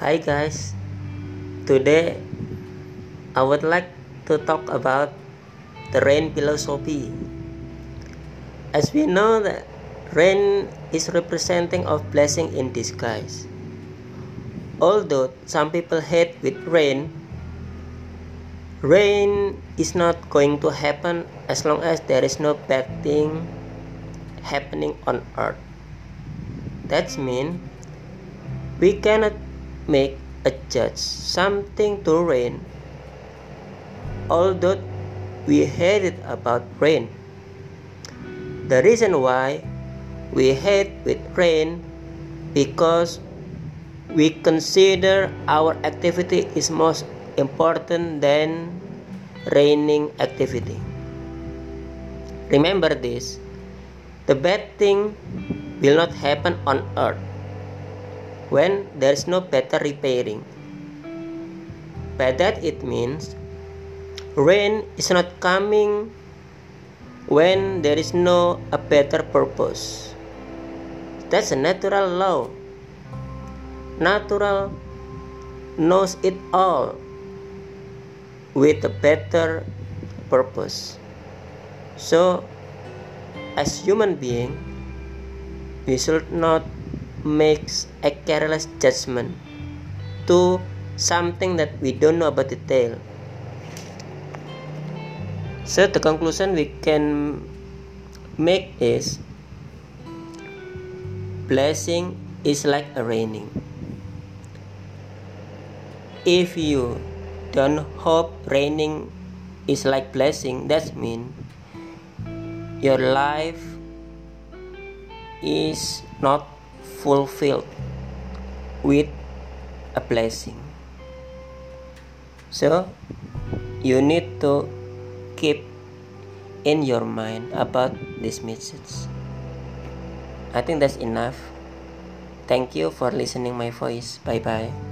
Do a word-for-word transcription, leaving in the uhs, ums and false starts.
Hi guys, today I would like to talk about the rain philosophy. As we know that rain is representing of blessing in disguise. Although some people hate with rain, rain is not going to happen as long as there is no bad thing happening on earth. That means we cannot make a judge something to rain, although we hate it about rain. The reason why we hate with rain because we consider our activity is most important than raining activity. Remember this, the bad thing will not happen on earth when there is no better repairing. By that it means rain is not coming when there is no a better purpose. That's a natural law. Natural knows it all with a better purpose. So as human being, we should not make a careless judgment to something that we don't know about detail. So the conclusion we can make is blessing is like a raining. If you don't hope raining is like blessing, that means your life is not fulfilled with a blessing. So you need to keep in your mind about this message. I think that's enough. Thank you for listening my voice. Bye bye.